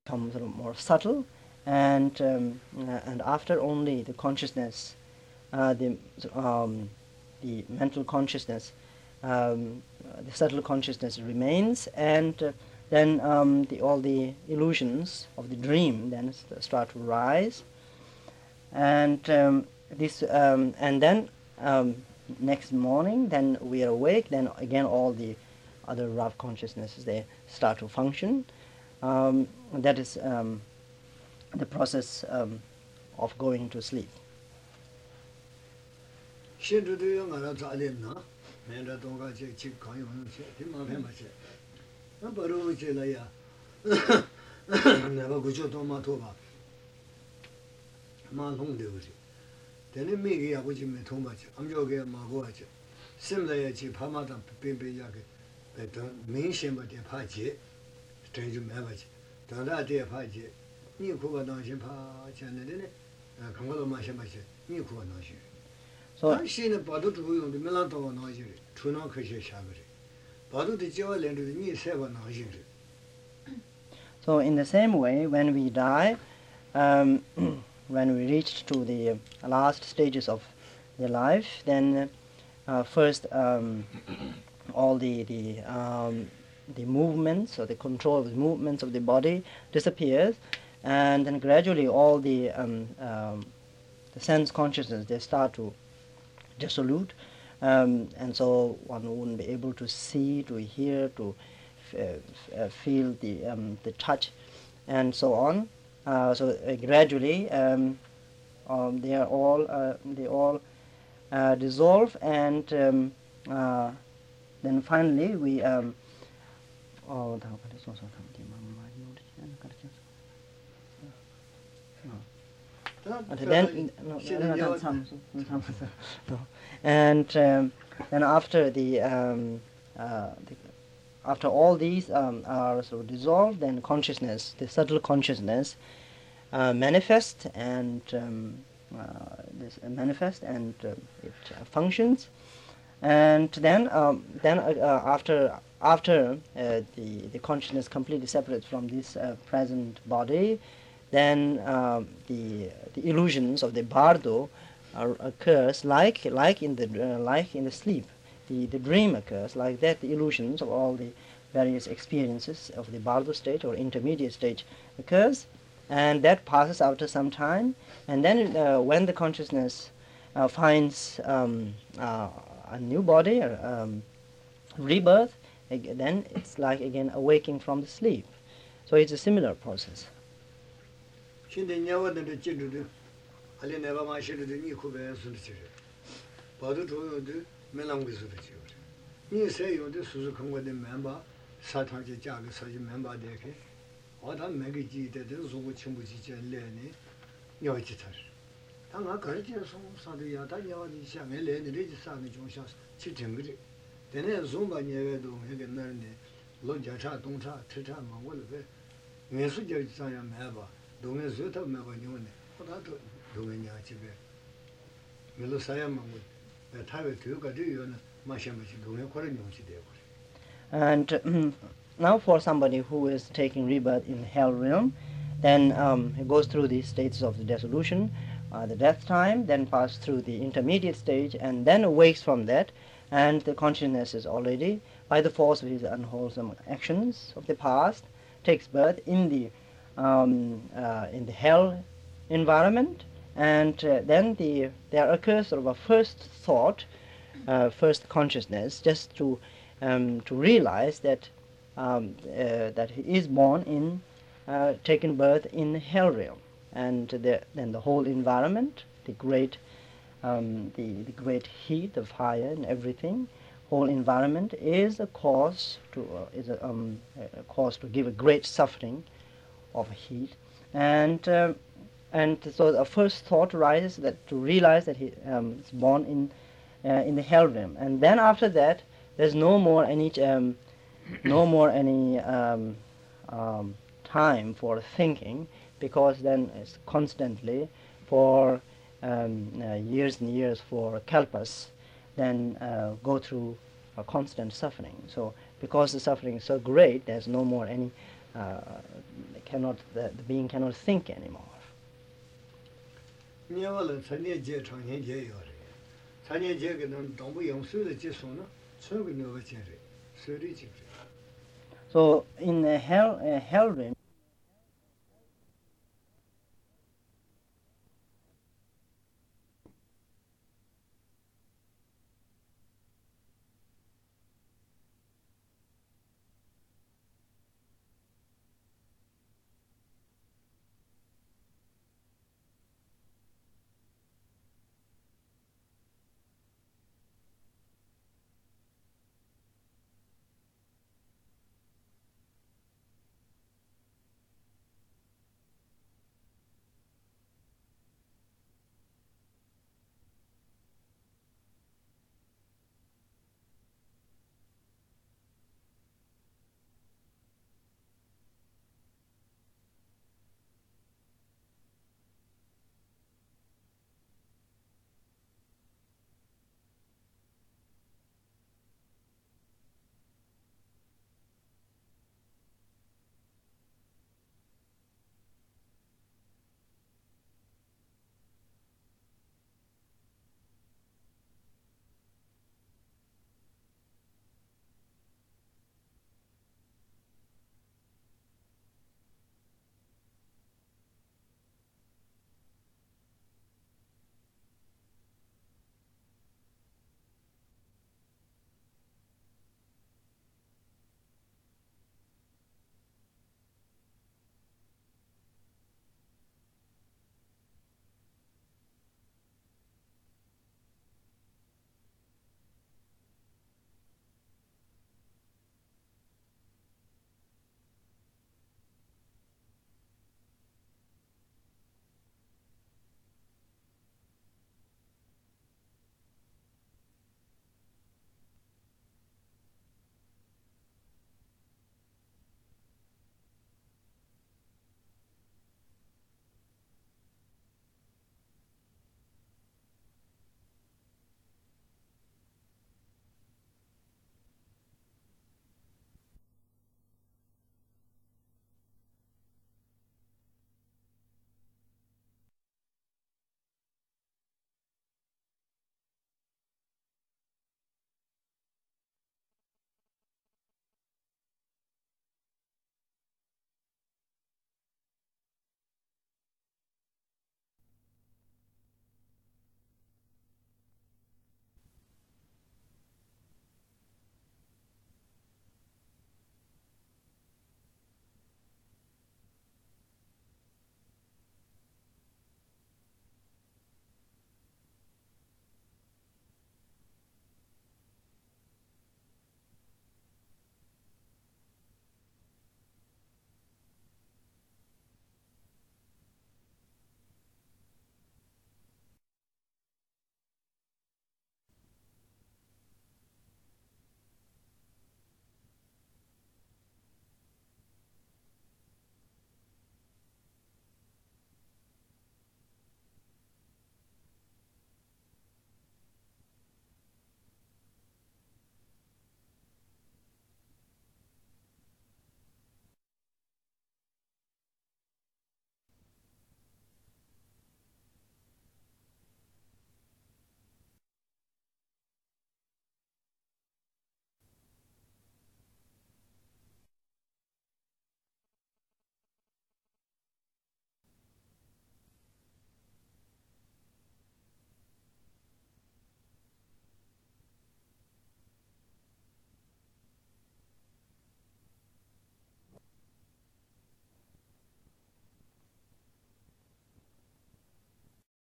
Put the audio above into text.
become sort of more subtle, and after only the consciousness, the mental consciousness, the subtle consciousness remains, and then all the illusions of the dream then start to rise, and and then next morning, then we are awake. Then again, all the other rough consciousnesses, they start to function. That is the process of going to sleep. So in the same way, when we die, when we reach to the last stages of the life, then first all the movements, or the control of the movements of the body disappears, and then gradually all the sense consciousness, they start to dissolute, and so one wouldn't be able to see, to hear, to feel the touch, and so on. So gradually they all dissolve, and then finally we and then after after all these are sort of dissolved, then consciousness, the subtle consciousness, manifests, and it functions, and then after the consciousness completely separates from this present body, then the illusions of the bardo occurs like in the sleep. The dream occurs like that. The illusions of all the various experiences of the bardo state or intermediate stage occurs, and that passes after some time. And then when the consciousness finds a new body, or rebirth, then it's like again awaking from the sleep. So it's a similar process. And now for somebody who is taking rebirth in hell realm, then he goes through the stages of the dissolution, the death time, then pass through the intermediate stage, and then awakes from that, and the consciousness is already, by the force of his unwholesome actions of the past, takes birth in the hell environment, and then there occurs sort of a first thought, first consciousness, just to realize that that he is born in, taken birth in hell realm, and then the whole environment, the great heat, the fire, and everything, whole environment is a cause to give a great suffering of heat, and so the first thought arises that to realize that he is born in the hell realm, and then after that there's no more any time for thinking, because then it's constantly for years and years, for kalpas, then go through a constant suffering. So because the suffering is so great, there's no more any the being cannot think anymore. So in hell realm,